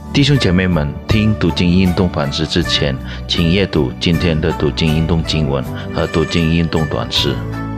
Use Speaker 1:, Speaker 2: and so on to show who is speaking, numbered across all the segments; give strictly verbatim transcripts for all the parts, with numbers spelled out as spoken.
Speaker 1: 弟兄姐妹们，听读经运动反思之前，请阅读今天的读经运动经文和读经运动短诗。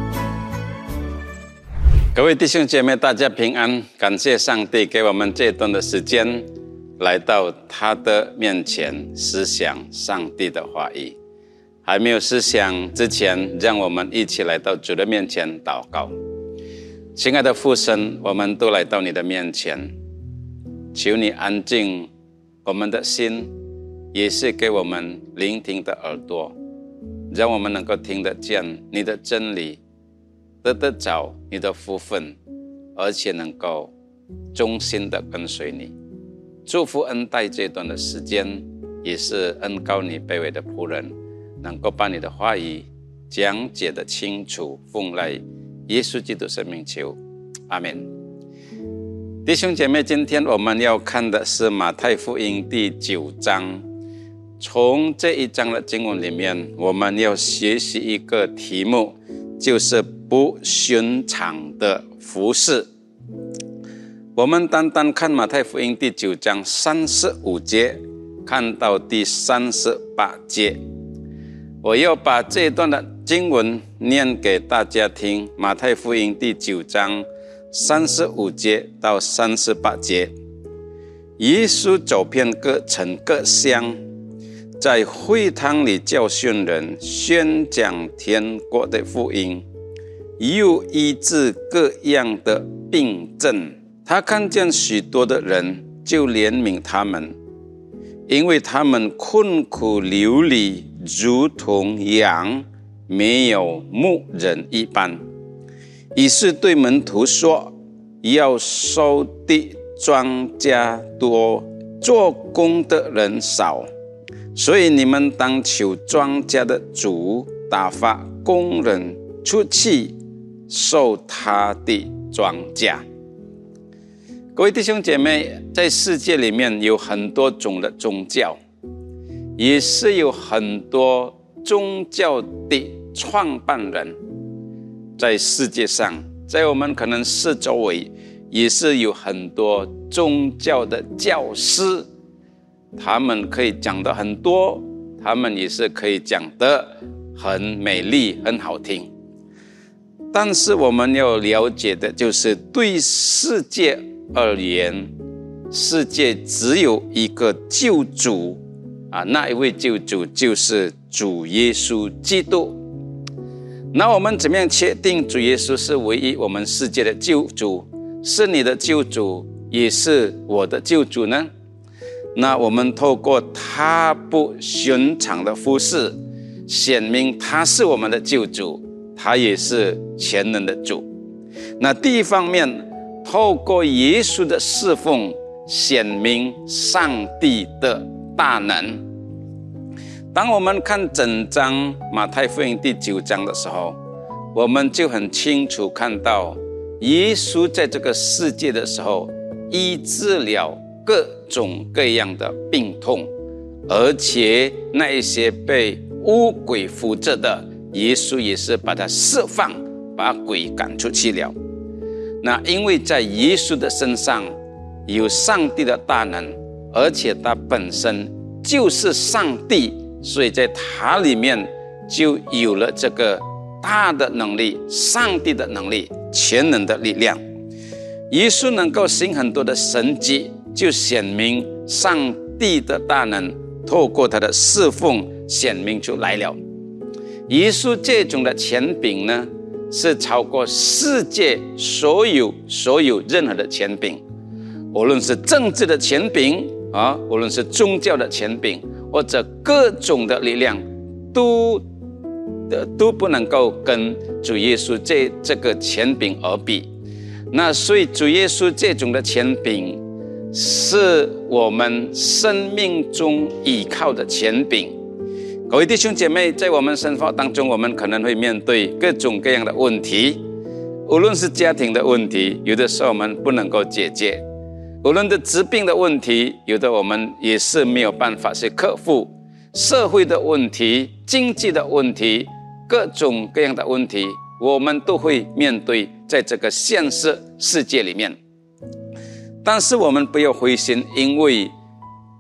Speaker 2: 各位弟兄姐妹，大家平安！感谢上帝给我们这段的时间，来到他的面前，思想上帝的话语。还没有思想之前，让我们一起来到主的面前祷告。亲爱的父神，我们都来到你的面前，求你安静我们的心，也是给我们聆听的耳朵，让我们能够听得见你的真理，得得着你的福分，而且能够忠心的跟随你。祝福恩待这段的时间，也是恩膏你卑微的仆人，能够把你的话语讲解的清楚，奉来耶稣基督圣名求，阿们。弟兄姐妹，今天我们要看的是马太福音第九章。从这一章的经文里面，我们要学习一个题目，就是不寻常的服事。我们单单看马太福音第九章三十五节，看到第三十八节。我要把这一段的经文念给大家听。马太福音第九章三十五节到三十八节。耶稣走遍各城各乡，在会堂里教训人，宣讲天国的福音，又医治各样的病症。他看见许多的人，就怜悯他们，因为他们困苦流离，如同羊没有牧人一般。于是对门徒说，要收的庄稼多，做工的人少，所以你们当求庄稼的主打发工人出去收他的庄稼。各位弟兄姐妹，在世界里面有很多种的宗教，也是有很多宗教的创办人。在世界上，在我们可能四周围，也是有很多宗教的教师，他们可以讲得很多，他们也是可以讲得很美丽很好听。但是我们要了解的就是，对世界而言，世界只有一个救主啊，那一位救主就是主耶稣基督。那我们怎么样确定主耶稣是唯一我们世界的救主，是你的救主，也是我的救主呢？那我们透过他不寻常的服事，显明他是我们的救主，他也是全能的主。那第一方面，透过耶稣的侍奉，显明上帝的大能。当我们看整章马太福音第九章的时候，我们就很清楚看到，耶稣在这个世界的时候，医治了各种各样的病痛，而且那一些被污鬼附着的，耶稣也是把他释放，把鬼赶出去了。那因为在耶稣的身上有上帝的大能，而且他本身就是上帝，所以在他里面就有了这个大的能力，上帝的能力，全能的力量。耶稣能够行很多的神迹，就显明上帝的大能，透过他的侍奉显明出来了。耶稣这种的权柄呢，是超过世界所有所有任何的权柄，无论是政治的权柄啊，无论是宗教的权柄，或者各种的力量，都都不能够跟主耶稣这这个权柄而比。那所以主耶稣这种的权柄，是我们生命中依靠的权柄。各位弟兄姐妹，在我们生活当中，我们可能会面对各种各样的问题，无论是家庭的问题，有的时候我们不能够解决，无论是疾病的问题，有的我们也是没有办法去克服，社会的问题，经济的问题，各种各样的问题，我们都会面对在这个现实世界里面。但是我们不要灰心，因为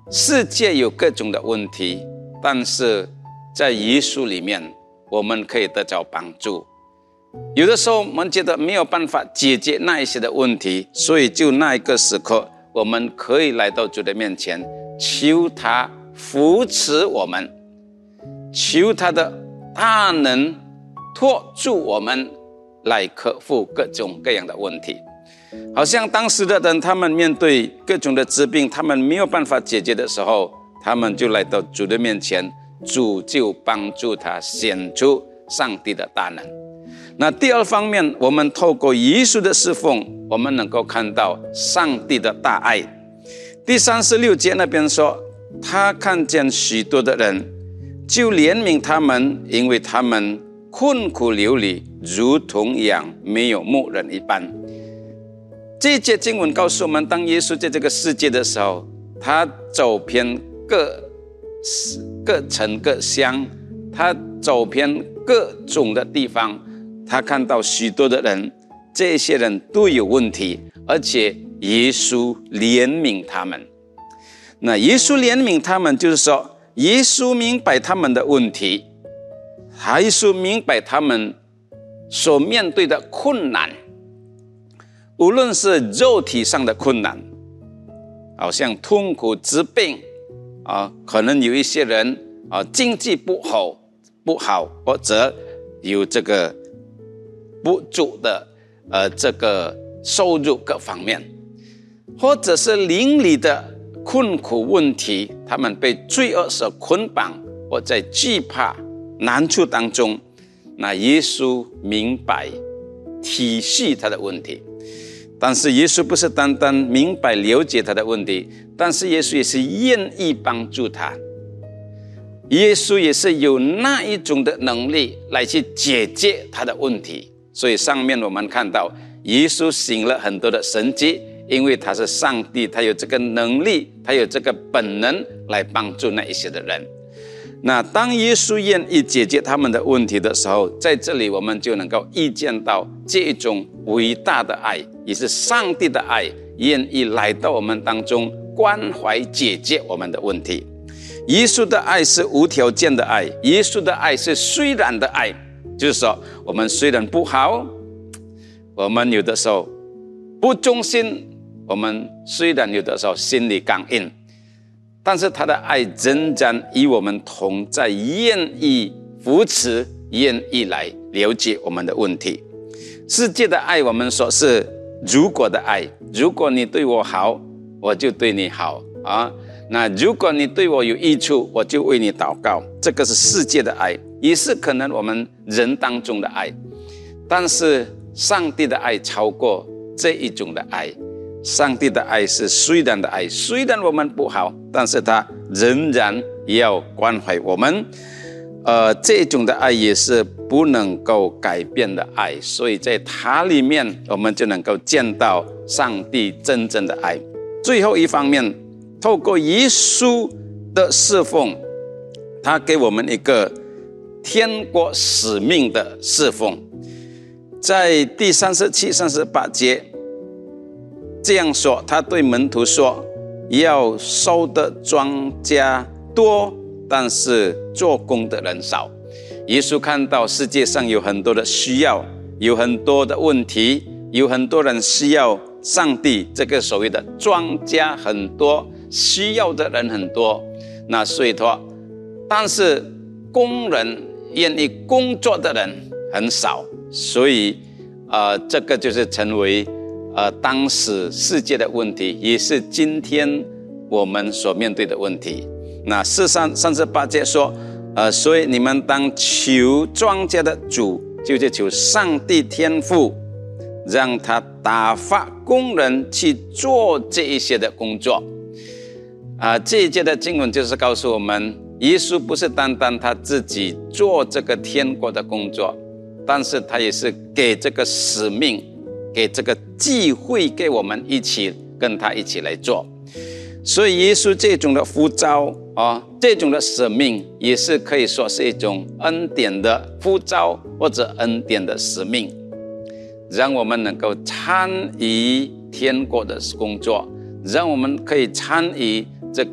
Speaker 2: 世界有各种的问题，但是在耶稣里面我们可以得到帮助。有的时候我们觉得没有办法解决那一些的问题，所以就那一个时刻我们可以来到主的面前，求他扶持我们，求他的大能托住我们来克服各种各样的问题。好像当时的人，他们面对各种的疾病，他们没有办法解决的时候，他们就来到主的面前，主就帮助他显出上帝的大能。那第二方面，我们透过耶稣的侍奉，我们能够看到上帝的大爱。第三十六节那边说，他看见许多的人，就怜悯他们，因为他们困苦流离，如同羊没有牧人一般。这一节经文告诉我们，当耶稣在这个世界的时候，他走遍各各城各乡，他走遍各种的地方，他看到许多的人，这些人都有问题，而且耶稣怜悯他们。那耶稣怜悯他们，就是说耶稣明白他们的问题，耶稣明白他们所面对的困难，无论是肉体上的困难，好像痛苦疾病啊，可能有一些人啊经济不好不好，或者有这个不足的呃这个收入各方面，或者是邻里的困苦问题，他们被罪恶所捆绑，或在惧怕难处当中，那耶稣明白体恤他的问题。但是耶稣不是单单明白了解他的问题，但是耶稣也是愿意帮助他，耶稣也是有那一种的能力来去解决他的问题。所以上面我们看到耶稣行了很多的神迹，因为他是上帝，他有这个能力，他有这个本能来帮助那一些的人。那当耶稣愿意解决他们的问题的时候，在这里我们就能够预见到这一种伟大的爱，也是上帝的爱，愿意来到我们当中，关怀解决我们的问题。耶稣的爱是无条件的爱，耶稣的爱是虽然的爱，就是说我们虽然不好，我们有的时候不忠心，我们虽然有的时候心里刚硬，但是他的爱仍然与我们同在，愿意扶持，愿意来了解我们的问题。世界的爱我们说是如果的爱，如果你对我好，我就对你好啊。那如果你对我有益处，我就为你祷告，这个是世界的爱，也是可能我们人当中的爱。但是上帝的爱超过这一种的爱，上帝的爱是虽然的爱，虽然我们不好，但是他仍然要关怀我们。呃，这种的爱也是不能够改变的爱，所以在它里面我们就能够见到上帝真正的爱。最后一方面，透过耶稣的侍奉，他给我们一个天国使命的侍奉。在第三十七、三十八节这样说，他对门徒说，要收的庄稼多，但是做工的人少。耶稣看到世界上有很多的需要，有很多的问题，有很多人需要上帝，这个所谓的庄稼很多，需要的人很多，那所以说，但是工人愿意工作的人很少，所以呃，这个就是成为呃当时世界的问题，也是今天我们所面对的问题。那四三三十八节说，呃，所以你们当求庄稼的主，就是求上帝天父，让他打发工人去做这一些的工作。啊、呃，这一节的经文就是告诉我们，耶稣不是单单他自己做这个天国的工作，但是他也是给这个使命，给这个机会给我们一起跟他一起来做。所以耶稣这种的呼召、哦、这种的使命也是可以说是一种恩典的呼召，或者恩典的使命，让我们能够参与天国的工作，让我们可以参与这个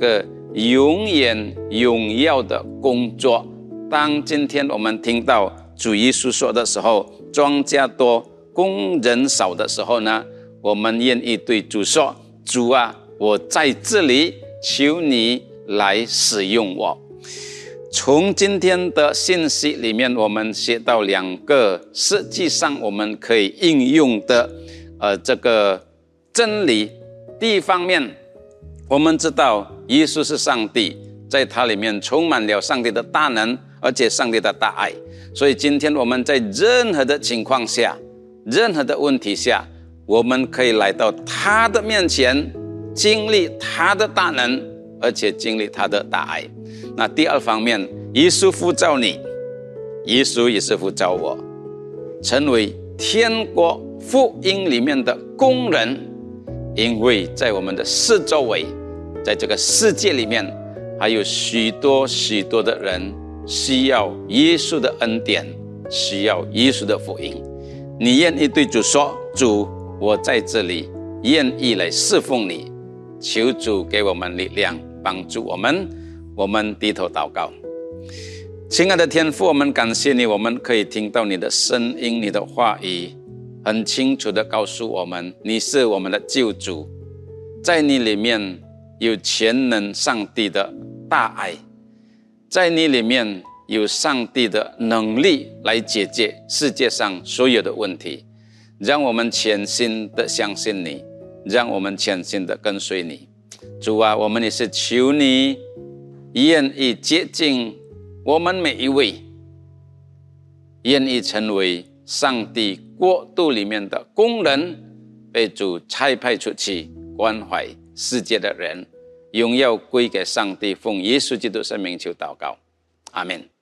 Speaker 2: 永远荣耀的工作。当今天我们听到主耶稣说的时候，庄稼多，工人少的时候呢，我们愿意对主说：主啊，我在这里，求你来使用我。从今天的信息里面，我们学到两个实际上我们可以应用的呃这个真理。第一方面，我们知道耶稣是上帝，在他里面充满了上帝的大能，而且上帝的大爱。所以今天我们在任何的情况下，任何的问题下，我们可以来到他的面前，经历他的大能，而且经历他的大爱。那第二方面，耶稣呼召你，耶稣也是呼召我，成为天国福音里面的工人。因为在我们的四周围，在这个世界里面，还有许多许多的人需要耶稣的恩典，需要耶稣的福音。你愿意对主说：主，我在这里，愿意来侍奉你。求主给我们力量，帮助我们。我们低头祷告。亲爱的天父，我们感谢你，我们可以听到你的声音，你的话语很清楚地告诉我们，你是我们的救主，在你里面有全能上帝的大爱，在你里面有上帝的能力来解决世界上所有的问题。让我们全心的相信你，让我们全心的跟随你。主啊，我们也是求你愿意接近我们每一位，愿意成为上帝国度里面的工人，被主差派出去关怀世界的人。荣耀归给上帝，奉耶稣基督圣名求祷告，阿们。